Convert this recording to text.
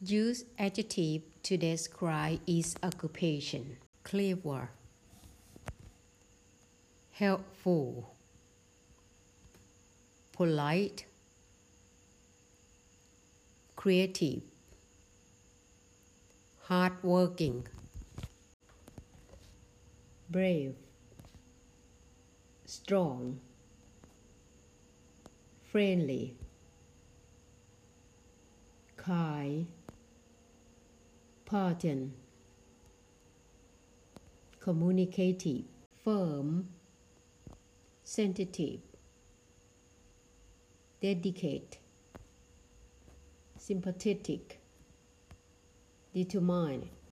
Use adjective to describe its occupation. Clever, helpful, polite, creative, hardworking, brave, strong, friendly, kind, potent, communicative, firm, sensitive, dedicated, sympathetic, determined